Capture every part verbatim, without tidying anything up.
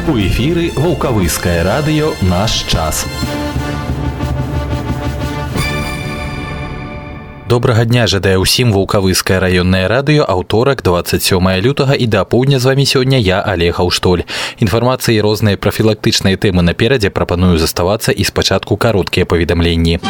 У эфіры Ваўкавыскае радыё «Наш час». Добрага дня жадае ўсім Ваўкавыскае раённае радыё, аўторак, двадцать сёмае лютага, і да апоўдня з вамі сёння я, Олег Аўштоль. Інфармацыі і розныя прафілактычныя тэмы наперадзе, прапаную заставацца і спачатку кароткія паведамленні.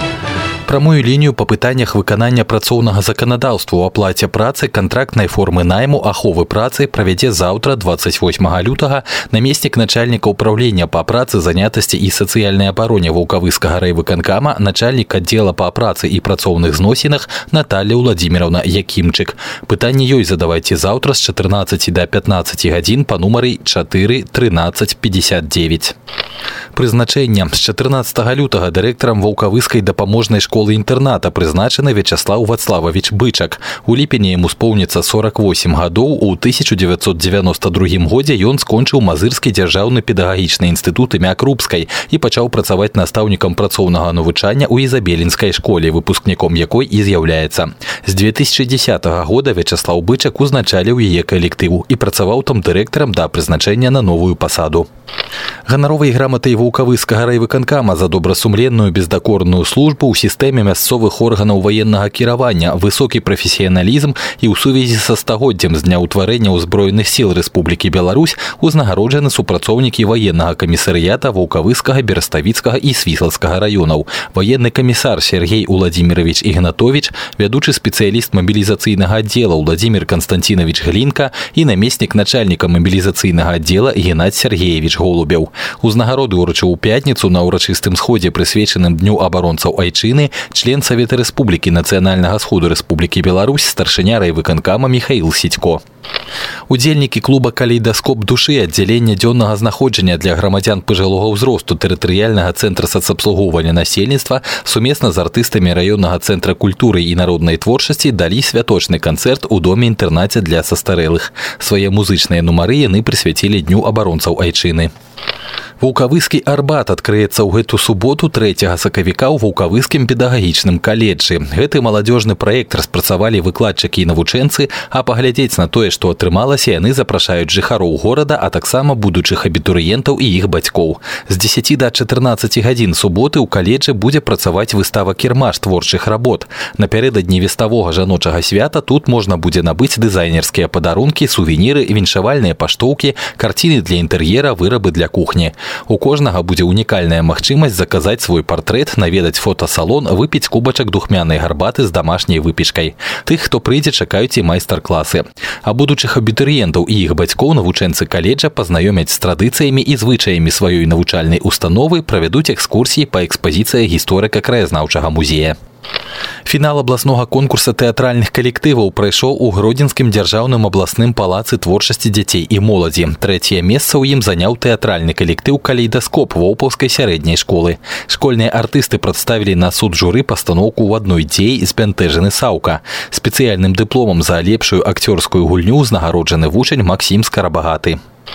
Прамую лінію па пытаннях выканання працоўнага заканадаўства ў аплаце працы, кантрактнай формы найму, аховы працы правядзе заўтра, двадцать восьмага лютага, намеснік начальніка ўпраўлення па працы, занятасці і сацыяльнай абароне Ваўкавыскага райвыканкама, начальнік аддзела па працы і працоўных зносінах Наталья Владимировна Якімчык. Пытанні ёй задавайце заўтра з чатырнаццаці да пятнаццаці гадзін па нумары чатыры трынаццаць пятьдесят девять. Прызначэнне. З чатырнаццатага лютага дырэктарам Ваўкавыскай дапаможнай школы-інтэрната прызначаны Вячаслав Вацлавович Бычак. У ліпені яму споўніцца сорок восемь гадоў. У тысяча девятьсот девяносто другім годзе ён скончыў Мазырскі дзяржаўны педагагічны інстытут імя Крупскай і пачаў працаваць настаўнікам працоўнага навучання ў Ізабелінскай школе, выпускніком якой і з'яўляецца. З две тысячи десятого года Вячаслав Бычак узначаліў яе калектыў і працаваў там дырэктарам да прызначэння на новую пасаду. Ганаровай граматай Ваўкавыскага райвыканкама за добрасумленную бездакорную службу ў сістэме мясцовых органаў ваеннага кіравання, высокі прафесіяналізм і ў сувязі са стагоддзям з дня ўтварэння ўзброеных сіл Рэспублікі Беларусь узнагароджаны супрацоўнікі ваеннага камісарыята Ваўкавыскага, Бераставіцкага і Свіслацкага раёнаў. Ваенны камісар Сергей Уладзімірович Ігнатович, вядучы спецыяліст мабілізацыйнага аддзела Владзімир Константинович Глінка і намеснік начальніка мабілізацыйнага аддзела Геннадзь Сергеевич Голубеў. Узнагароды ўручыў у пятніцу на ўрачыстым сходзе, прысвечаным Дню абаронцаў Айчыны, член Савета Рэспублікі Нацыянальнага сходу Рэспублікі Беларусь, старшыня райвыканкама Михаил Сідько. Удзельнікі клуба «Калейдаскоп душы» аддзялення дзённага знаходжання для грамадзян пажылога ўзросту тэрытарыяльнага цэнтра сацабслугоўвання насельніцтва сумесна з артыстамі раённага цэнтра культуры і народнай творчасці далі святочны канцэрт у доме-інтэрнаце для састарэлых. Свае музычныя нумары яны прысвяцілі Дню абаронцаў Айчыны. Ваўкавыскі Арбат адкрыецца ў гэту суботу трэцяга сакавіка ў Ваўкавыскім педагагічным каледжы. Гэты маладзёжны праект распрацавалі выкладчыкі і навучэнцы, а паглядзець на тое, што атрымалася, яны запрашаюць жыхароў горада, а таксама будучых абітурыентаў і іх бацькоў. З дзесяці да чатырнаццаці гадзін суботы ў каледжы будзе працаваць выстава «Кірмаш творчых работ». Напярэдадні веставога жаночага свята тут можна будзе набыць дызайнерскія падарункі, сувеніры, віншавальныя паштоўкі, карціны для інтэр'ера, вырабы для кухні. У кожнага будзе унікальная магчымасць заказаць свой партрэт, наведаць фотасалон, выпіць кубачак духмянай гарбаты з дамашняй выпечкай. Тых, хто прыйдзе, чакаюць і майстар-класы. А будучых абітурыентаў і іх бацькоў навучэнцы каледжа пазнаёмяць з традыцыямі і звычаямі сваёй навучальнай установы, правядуць экскурсіі па экспазіцыях гісторыка-краязнаўчага музея. Фінал абласнога конкурса тэатральных калектываў прайшоў у Гродзенскім дзяржаўным абласным палацы творчасці дзяцей і моладзі. Трэцяе месца ў ім заняў тэатральны калектыў «Калейдаскоп» Воўпаўскай сярэдняй школы. Школьныя артысты прадставілі на суд журы пастаноўку «У адной дзеі збянтэжаны Саўка». Спецыяльным дыпломам за лепшую акцёрскую гульню узнагароджаны вучань Максім Скарабагаты.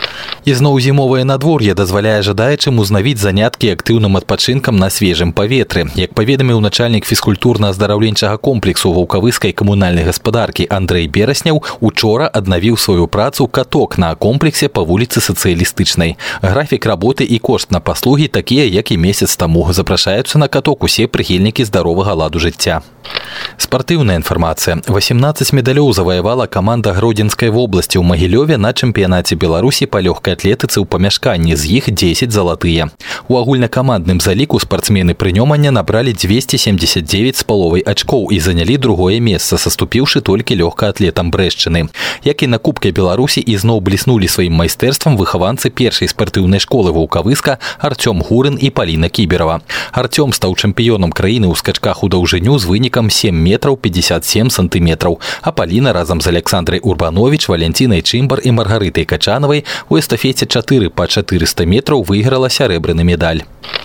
Ізноў зімовае надвор'е дазваляе жадаючым узнавіць заняткі актыўным адпачынкам на свежым паветры. Як паведаміў начальнік фізкультурна-аздараўленчага комплексу Ваўкавыскай камунальнай гаспадаркі Андрэй Берасняў, учора аднавіў сваю працу каток на комплексе па вуліцы Сацыялістычнай. Графік работы і кошт на паслугі такія, як і месяц таму. Запрашаюцца на каток усе прыхільнікі здаровага ладу жыцця. Спартыўная інфармацыя. восемнадцать медалёў заваявала каманда Гродзенскай вобласці ў Магілёве на чэмпіянаце Беларусі па лёгкай атлетыцы ў памяшканні, з іх дзесяць залатыя. У агульнакамандным заліку спартсмены прынёмання набралі двести семьдесят девять з паловай ачкоў і занялі другое месца, саступіўшы толькі лёгкаатлетам Брэшчыны. Як і на Кубке Беларусі, ізноў бліснулі сваім майстэрствам выхаванцы першай спартыўнай школы Ваўкавыска Артём Гурын і Паліна Кіберава. Артём стаў чэмпіёнам краіны ў скачках у даўжыню з вынікам сем метраў пятьдесят семь сантыметраў, а Паліна разам з Александрай Урбанович, Валянцінай Чымбар і Маргарытай Качанавай у эстафеце чатыры па чатырыста метраў выйграла сярэбраны медаль.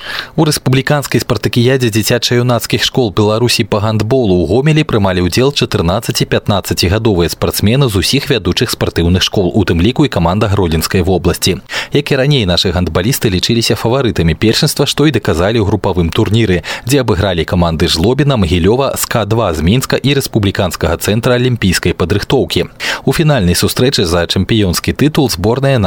У рэспубліканскай спартакіядзе дзіцяча-юнацкіх школ Беларусі па гандболу ў Гомелі прымалі ўдзел чатырнаццаці-пятнаццацігадовыя спартсмены з усіх вядучых спартыўных школ, у тым ліку і каманда Гродзенскай вобласці. Як і раней, нашы гандбалісты лічыліся фаварытамі першынства, што і даказалі ў групавым турніры, дзе абыгралі каманды Жлобіна, Магілёва, ска два з Мінска і рэспубліканскага цэнтра алімпійскай падрыхтоўкі. У фінальнай сустрэчы за чэмпіёнскі тытул зборная нашай вобласці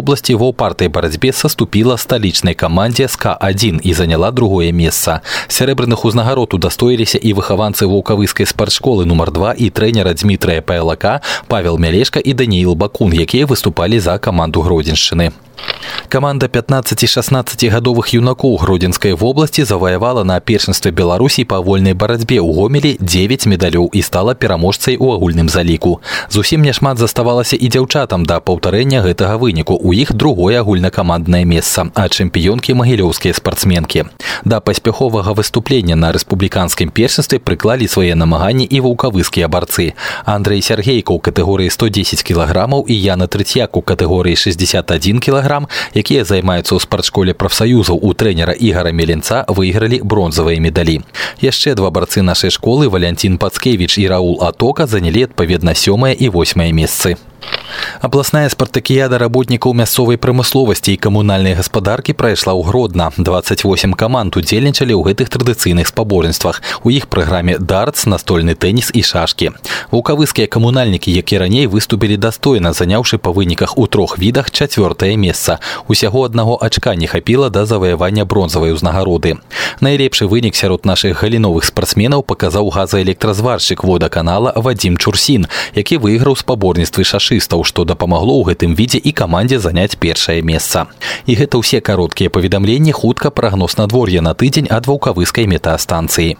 области в упартой борьбе соступила столичной команде СК один и заняла другое место. Серебряных узнагарод удостоились и выхованцы Ваўкавыскай спортшколы номер два и тренера Дмитрия Пайлака Павел Мялешко и Даниил Бакун, якія выступали за команду Гродзеншчыны. Команда пятнадцати-шестнадцатигадовых юнакоў Гродзенскай вобласці заваявала на першынстве Беларусі па вольнай барацьбе ў Гомелі дзевяць медалёў і стала пераможцай у агульным заліку. Зусім няшмат заставалася і дзяўчатам да паўтарэння гэтага выніку. У іх другое агульнакаманднае месца, а чэмпіёнкі магілёўскія спартсменкі. Да паспяховага выступлення на рэспубліканскім першынстве прыклалі свае намаганні і ваўкавыскія барцы. Андрэй Сяргейка ў катэгорыі сто дзесяць кілаграмаў і Яна Трыцяк у катэгорыі шэсцьдзесят адзін кілаграм, якія займаюцца ў спартшколе прафсаюзаў у трэнера Ігара Меленца, выйгралі бронзавыя медалі. Яшчэ два барцы нашай школы, Валянцін Пацкевіч і Раул Атока, занялі адпаведна сёмае і восьмае месцы. Абласная спартакіяда работнікаў мясцовай прамысловасці і камунальнай гаспадаркі прайшла ў Гродна. дваццаць восем каманд удзельнічалі ў гэтых традыцыйных спаборніцтвах. У іх праграме дартс, настольны тэніс і шашкі. Ваўкавыскія камунальнікі, як і раней, выступілі дастойна, заняўшы па выніках у трох відах чацвёртае месца. Усяго аднаго ачка не хапіла да заваявання бронзавай узнагароды. Найлепшы вынік сярод нашых галіновых спартсменаў паказаў газаэлектразваршчык водаканала Вадзім Чурсін, які выйграў спаборніцтвы шашыстаў, што дапамагло ў гэтым відзе і камандзе заняць першае месца. І гэта ўсе кароткія паведамленні, хутка прагноз надвор'я на тыдзень ад ваўкавыскай метэастанцыі.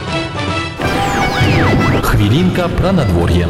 Хвілінка пра надвор'е.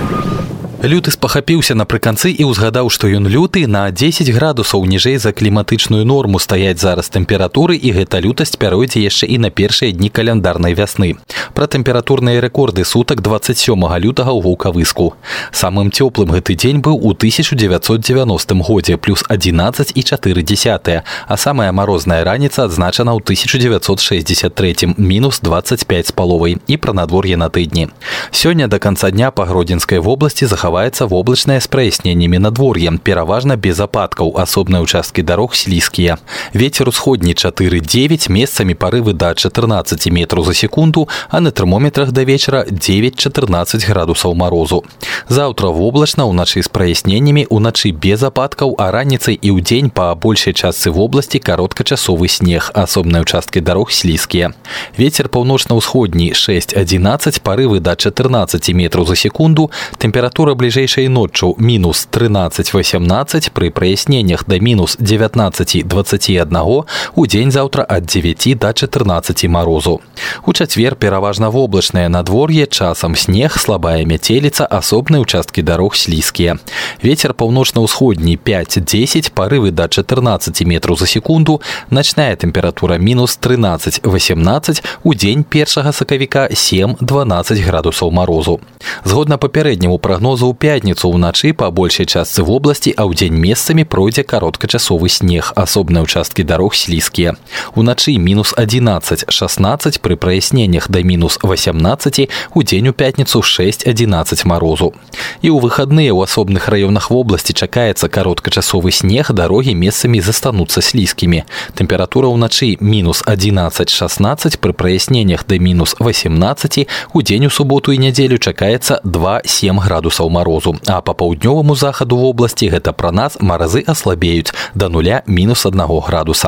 Люты спахапіўся напрыканцы і ўзгадаў, што ён люты. На дзесяць градусаў ніжэй за кліматычную норму стаяць зараз тэмпературы, і гэта лютасць пяройдзе яшчэ і на першыя дні каляндарнай вясны. Пра тэмпературныя рэкорды сутак дваццаць сёмага лютага ў Ваўкавыску. Самым цёплым гэты дзень быў у тысяча дзевяцьсот дзевяностым годзе, плюс адзінаццаць і чатыры дзясятыя, а самая марозная раніца адзначана ў тысяча дзевяцьсот шэсцьдзесят трэцім, мінус дваццаць пяць з паловай, і пра надвор'е на тыдні. Сёння да канца дня па Гродзенскай вобласці захаваецца воблачнае з праясненнямі надвор'е, пераважна без ападкаў, асобныя ўчасткі дарог слізкія. Вецер усходні чатыры дзевяць, месцамі парывы да чатырнаццаці метраў за секунду, а на тэрмометрах да вечара дзевяць-чатырнаццаць градусаў марозу. Заўтра воблачна, уначы з праясненнямі, уначы без ападкаў, а раніцай і ўдзень па большай частцы вобласці кароткачасовы снег, асобныя ўчасткі дарог слізкія. Вецер паўночна-ўсходні шэсць-адзінаццаць, парывы да чатырнаццаці метраў за секунду, тэмпература бліжэйшай ноччу мінус трынаццаць-васямнаццаць, пры праясненнях да мінус дзевятнаццаці-дваццаці аднаго, у дзень заўтра ад дзевяці да чатырнаццаці марозу. У чацвер пераважна воблачнае надвор'е, часам снег, слабая мяцеліца, асобныя ўчасткі дарог слізкія. Вецер паўночна-ўсходні пяць-дзесяць, парывы да чатырнаццаці метраў за секунду, начная тэмпература мінус трынаццаць-васямнаццаць, у дзень першага сакавіка сем-дванаццаць градусаў марозу. Згодна папярэдняму прагнозу, у пятніцу ўначы па большай частцы вобласці, а ўдзень месцамі пройдзе кароткачасовы снег, асобныя ўчасткі дарог слізкія. Уначы мінус адзінаццаць-шаснаццаць, пры праясненнях да мінус васямнаццаці, у дзень у пятніцу шэсць-адзінаццаць марозу. І ў выхадныя ў асобных раёнах вобласці чакаецца кароткачасовы снег, дарогі месцамі застануцца слізкімі. Тэмпература ўначы мінус адзінаццаць-шаснаццаць, пры праясненнях да мінус васямнацаці, у дзень у суботу і нядзелю чакаецца два-сем градусаў марозу, а па паўднёваму захаду вобласці гэта пра нас маразы аслабеюць да нуля мінус аднаго градуса.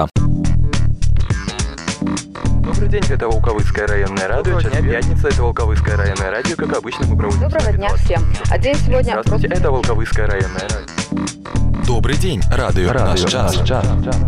Добрый день, это Ваўкавыское районное радио. Сейчас пятница, это Ваўкавыское районное радио. Как обычно, мы проводим... Доброго дня всем. А день сегодня... Здравствуйте, это Ваўкавыское районное радио. Добрый день, радио, радио наш час. час.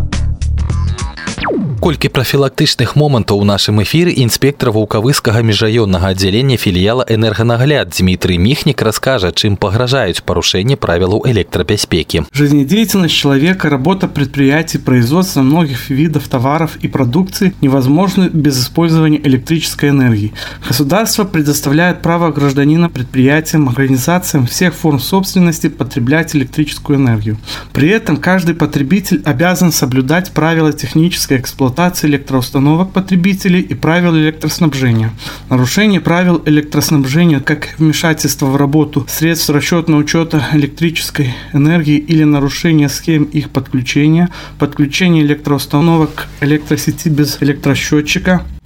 Колькі прафілактычных момантаў у нашым эфіры інспектор Ваўкавыскага міжраённага аддзялення філіяла «Энерганагляд» Дмитрий Михник расскажет, чем погрожают порушение правил электробезпеки. Жизнедеятельность человека, работа предприятий, производство многих видов товаров и продукции невозможны без использования электрической энергии. Государство предоставляет право гражданина предприятиям, организациям всех форм собственности потреблять электрическую энергию. При этом каждый потребитель обязан соблюдать правила технической эксплуатации электроустановок потребителей и правил электроснабжения. Нарушение правил электроснабжения, как вмешательство в работу средств расчетного учета электрической энергии или нарушение схем их подключения, подключение электроустановок к электросети без электросчетчика,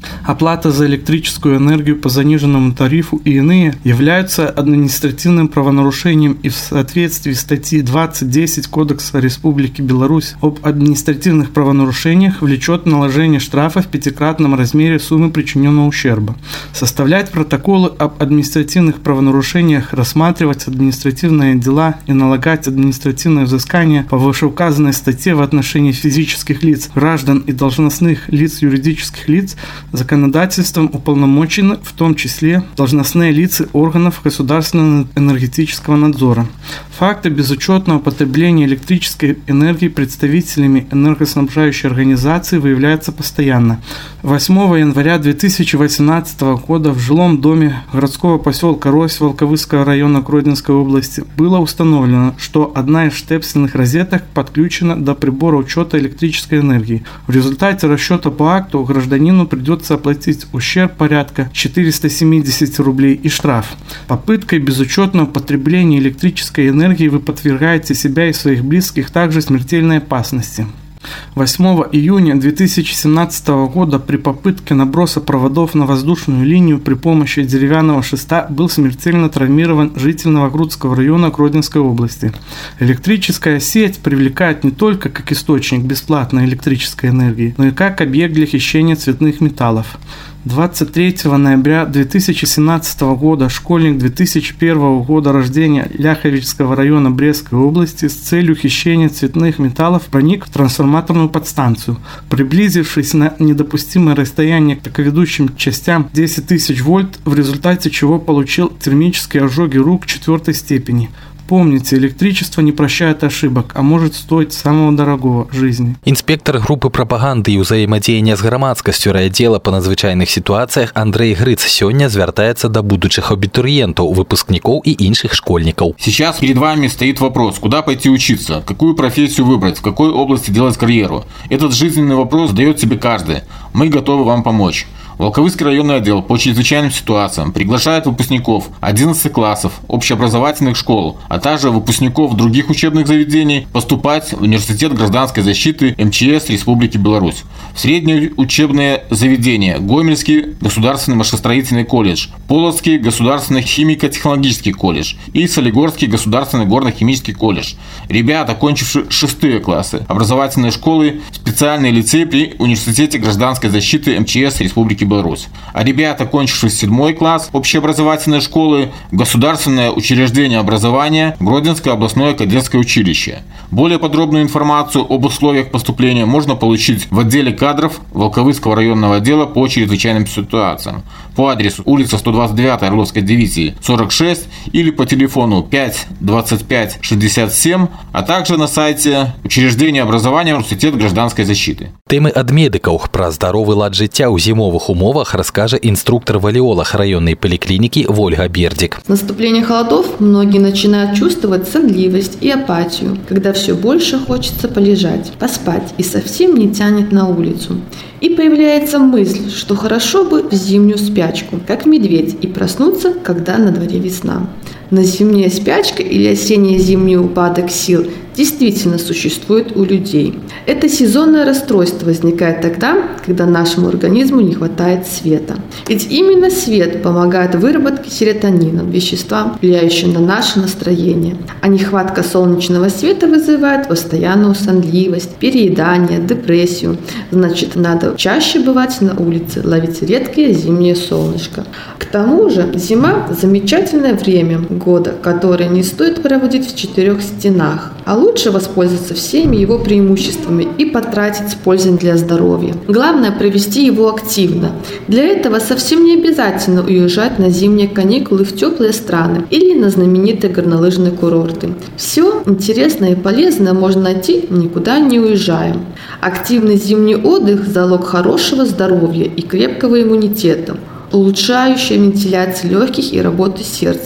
Оплата за электрическую энергию по заниженному тарифу и иные являются административным правонарушением и в соответствии с статьей двадцать десять Кодекса Республики Беларусь об административных правонарушениях влечет наложение штрафа в пятикратном размере суммы причиненного ущерба. Составлять протоколы об административных правонарушениях, рассматривать административные дела и налагать административное взыскание по вышеуказанной статье в отношении физических лиц, граждан и должностных лиц юридических лиц законодательством уполномочены, в том числе должностные лица органов государственного энергетического надзора. Факты безучетного потребления электрической энергии представителями энергоснабжающей организации выявляются постоянно. восьмого января две тысячи восемнадцатого года в жилом доме городского поселка Рось Волковыского района Гродненской области было установлено, что одна из штепсельных розеток подключена до прибора учета электрической энергии. В результате расчета по акту гражданину придется оплатить ущерб порядка четыреста семьдесят рублей и штраф. Попыткой безучетного потребления электрической энергии вы подвергаете себя и своих близких также смертельной опасности. восьмого июня две тысячи семнадцатого года при попытке наброса проводов на воздушную линию при помощи деревянного шеста был смертельно травмирован житель Новогрудского района Гродненской области. Электрическая сеть привлекает не только как источник бесплатной электрической энергии, но и как объект для хищения цветных металлов. двадцать третьего ноября две тысячи семнадцатого года школьник две тысячи первого года рождения Ляховичского района Брестской области с целью хищения цветных металлов проник в трансформаторную подстанцию. Приблизившись на недопустимое расстояние к ведущим частям десять тысяч вольт, в результате чего получил термические ожоги рук четвертой степени. Помните, электричество не прощает ошибок, а может стоить самого дорогого – жизни. Інспектор групы прапаганды і ўзаемадзеяння з грамадскасцю райаддзела па надзвычайных сітуацыях Андрей Грыц сёння звяртаецца да будучых абітурыентаў, выпускников и іншых школьников. Сейчас перед вами стоит вопрос, куда пойти учиться, какую профессию выбрать, в какой области делать карьеру. Этот жизненный вопрос задает себе каждый. Мы готовы вам помочь. Волковыский районный отдел по чрезвычайным ситуациям приглашает выпускников одиннадцати классов общеобразовательных школ, а также выпускников других учебных заведений поступать в Университет гражданской защиты эм че эс Республики Беларусь. В средние учебные заведения: Гомельский государственный машиностроительный колледж, Полоцкий государственный химико-технологический колледж и Солигорский государственный горно-химический колледж. Ребята, окончившие шестые классы образовательной школы, специальный лицей при Университете гражданской защиты эм че эс Республики Беларусь. А ребята, окончившие седьмой класс общеобразовательной школы, государственное учреждение образования Гродненское областное кадетское училище. Более подробную информацию об условиях поступления можно получить в отделе кадров Волковыского районного отдела по чрезвычайным ситуациям по адресу улица сто двадцать девять Орловской дивизии сорок шесть или по телефону пять двадцать пять шестьдесят семь, а также на сайте учреждения образования Университет гражданской защиты. Тэмы ад медыкаў пра здаровы лад жыцця ў зімовых умовах расскажет инструктор-валиолог районной поликлиники Ольга Бердик. С наступлением холодов многие начинают чувствовать сонливость и апатию, когда все больше хочется полежать, поспать и совсем не тянет на улицу. И появляется мысль, что хорошо бы в зимнюю спячку, как медведь, и проснуться, когда на дворе весна. Но зимняя спячка или осенне-зимний упадок сил действительно существует у людей. Это сезонное расстройство возникает тогда, когда нашему организму не хватает света. Ведь именно свет помогает выработке серотонина, вещества, влияющего на наше настроение. А нехватка солнечного света вызывает постоянную сонливость, переедание, депрессию. Значит, надо чаще бывать на улице, ловить редкое зимнее солнышко. К тому же зима – замечательное время года, которое не стоит проводить в четырех стенах, а лучше воспользоваться всеми его преимуществами и потратить с пользой для здоровья. Главное – провести его активно. Для этого совсем не обязательно уезжать на зимние каникулы в теплые страны или на знаменитые горнолыжные курорты. Все интересное и полезное можно найти, никуда не уезжая. Активный зимний отдых – залог хорошего здоровья и крепкого иммунитета, улучшающая вентиляцию легких и работу сердца.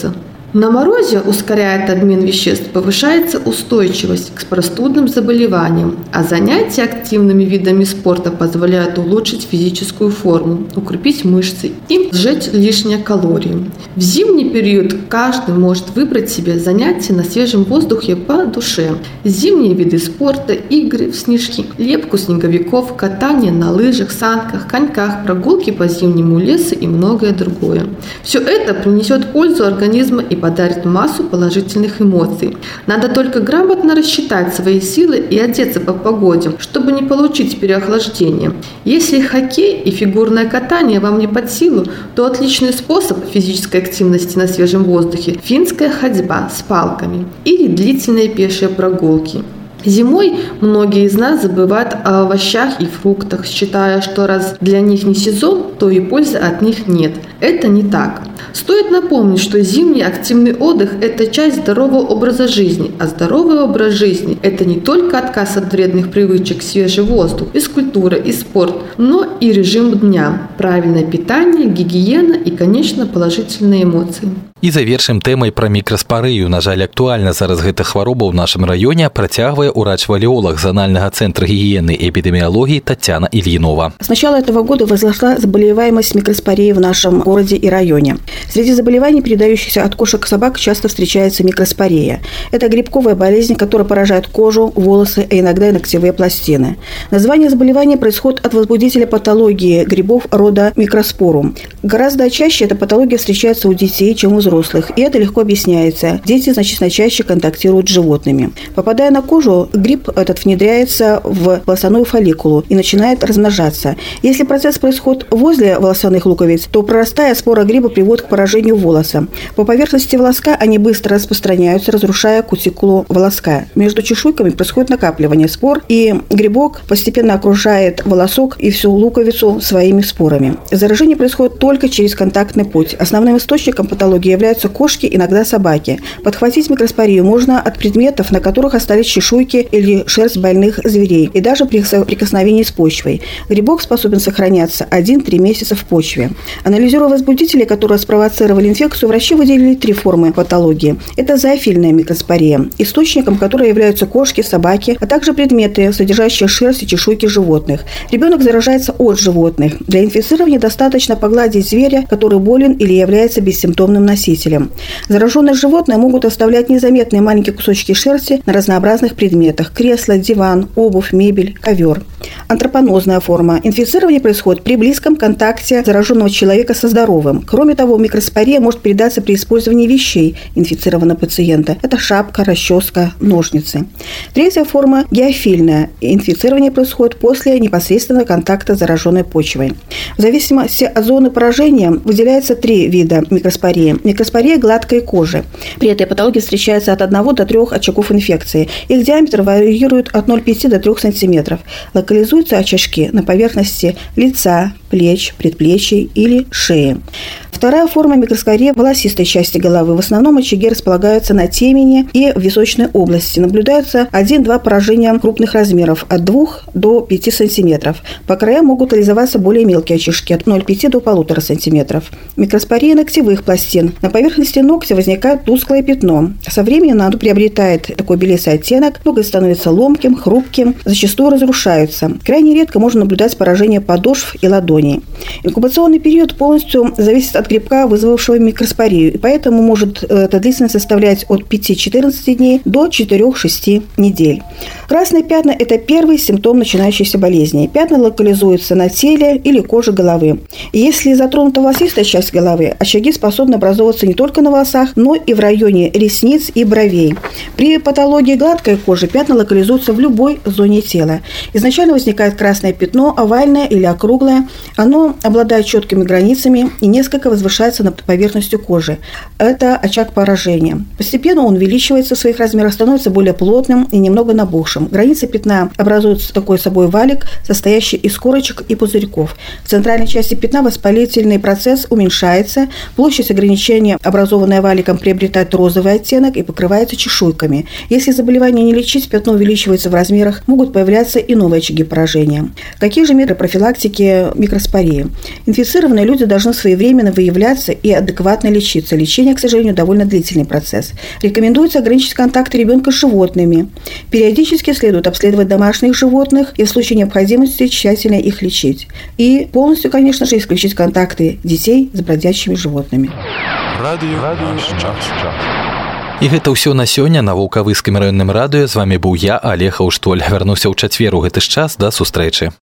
На морозе ускоряет обмен веществ, повышается устойчивость к простудным заболеваниям, а занятия активными видами спорта позволяют улучшить физическую форму, укрепить мышцы и сжечь лишние калории. В зимний период каждый может выбрать себе занятия на свежем воздухе по душе. Зимние виды спорта, игры в снежки, лепку снеговиков, катание на лыжах, санках, коньках, прогулки по зимнему лесу и многое другое. Все это принесет пользу организму и подарит массу положительных эмоций. Надо только грамотно рассчитать свои силы и одеться по погоде, чтобы не получить переохлаждение. Если хоккей и фигурное катание вам не под силу, то отличный способ физической активности на свежем воздухе – финская ходьба с палками или длительные пешие прогулки. Зимой многие из нас забывают о овощах и фруктах, считая, что раз для них не сезон, то и пользы от них нет. Это не так. Стоит напомнить, что зимний активный отдых – это часть здорового образа жизни, а здоровый образ жизни – это не только отказ от вредных привычек, свежий воздух, физкультура и спорт, но и режим дня, правильное питание, гигиена и, конечно, положительные эмоции. І завершым тэмай пра мікраспарыю. На жаль, актуальна зараз гэта хвароба ў нашым раёне, працягвае урач-валеолог Зональнага центра гигиены и эпидемиологии Татьяна Ильинова. С начала этого года возросла заболеваемость микроспореей в нашем городе и районе. Среди заболеваний, передающихся от кошек к собак, часто встречается микроспорея. Это грибковая болезнь, которая поражает кожу, волосы, а иногда и ногтевые пластины. Название заболевания происходит от возбудителя патологии грибов рода микроспорум. Гораздо чаще эта патология встречается у детей, чем у взрослых, и это легко объясняется. Дети значительно чаще контактируют с животными. Попадая на кожу, гриб этот внедряется в волосяную фолликулу и начинает размножаться. Если процесс происходит возле волосяных луковиц, то прорастая спора гриба приводит к поражению волоса. По поверхности волоска они быстро распространяются, разрушая кутикулу волоска. Между чешуйками происходит накапливание спор, и грибок постепенно окружает волосок и всю луковицу своими спорами. Заражение происходит только через контактный путь. Основным источником патологии являются кошки, иногда собаки. Подхватить микроспорию можно от предметов, на которых остались чешуйки или шерсть больных зверей, и даже при соприкосновении с почвой. Грибок способен сохраняться один-три месяца в почве. Анализируя возбудители, которые спровоцировали инфекцию, врачи выделили три формы патологии. Это зоофильная микроспория, источником которой являются кошки, собаки, а также предметы, содержащие шерсть и чешуйки животных. Ребенок заражается от животных. Для инфицирования достаточно погладить зверя, который болен или является бессимптомным носителем. Зараженные животные могут оставлять незаметные маленькие кусочки шерсти на разнообразных предметах – кресло, диван, обувь, мебель, ковер. Антропонозная форма. Инфицирование происходит при близком контакте зараженного человека со здоровым. Кроме того, микроспория может передаться при использовании вещей инфицированного пациента. Это шапка, расческа, ножницы. Третья форма – геофильная. Инфицирование происходит после непосредственного контакта с зараженной почвой. В зависимости от зоны поражения выделяется три вида микроспории. Микроспория гладкой кожи. При этой патологии встречается от одного до трех очагов инфекции. Их диаметр варьирует от ноль целых пяти десятых до трёх сантиметров. Локализуются очажки на поверхности лица, плеч, предплечий или шеи. Вторая форма микроспории – волосистой части головы. В основном очаги располагаются на темени и в височной области. Наблюдаются один-два поражения крупных размеров – от двух до пяти сантиметров. По краям могут реализоваться более мелкие очишки – от ноль целых пяти десятых до полутора сантиметров. Микроспория ногтевых пластин. На поверхности ногтя возникает тусклое пятно. Со временем оно приобретает такой белесый оттенок, ноготь становится ломким, хрупким, зачастую разрушаются. Крайне редко можно наблюдать поражение подошв и ладоней. Инкубационный период полностью зависит от грибка, вызвавшего микроспорию, и поэтому может эта длительность составлять от пяти-четырнадцати дней до четырёх-шести недель. Красные пятна – это первый симптом начинающейся болезни. Пятна локализуются на теле или коже головы. И если затронута волосистая часть головы, очаги способны образовываться не только на волосах, но и в районе ресниц и бровей. При патологии гладкой кожи пятна локализуются в любой зоне тела. Изначально возникает красное пятно, овальное или округлое. Оно обладает четкими границами и несколько возвышается над поверхностью кожи. Это очаг поражения. Постепенно он увеличивается в своих размерах, становится более плотным и немного набухшим. Границы пятна образуют такой собой валик, состоящий из корочек и пузырьков. В центральной части пятна воспалительный процесс уменьшается, площадь ограничения, образованная валиком, приобретает розовый оттенок и покрывается чешуйками. Если заболевание не лечить, пятно увеличивается в размерах, могут появляться и новые очаги поражения. Какие же меры профилактики микроспории? Инфицированные люди должны своевременно выявлять выявляться и адекватно лечиться. Лечение, к сожалению, довольно длительный процесс. Рекомендуется ограничить контакты ребенка с животными. Периодически следует обследовать домашних животных и в случае необходимости тщательно их лечить. И полностью, конечно же, исключить контакты детей с бродячими животными. Радио наш час. І гэта ўсё на сёння на Вулкавыскім раённым радыё. З вами быў я, Олег Аўштоль. Вярнуся ў чацвер у гэты ж час. Да сустрэчы.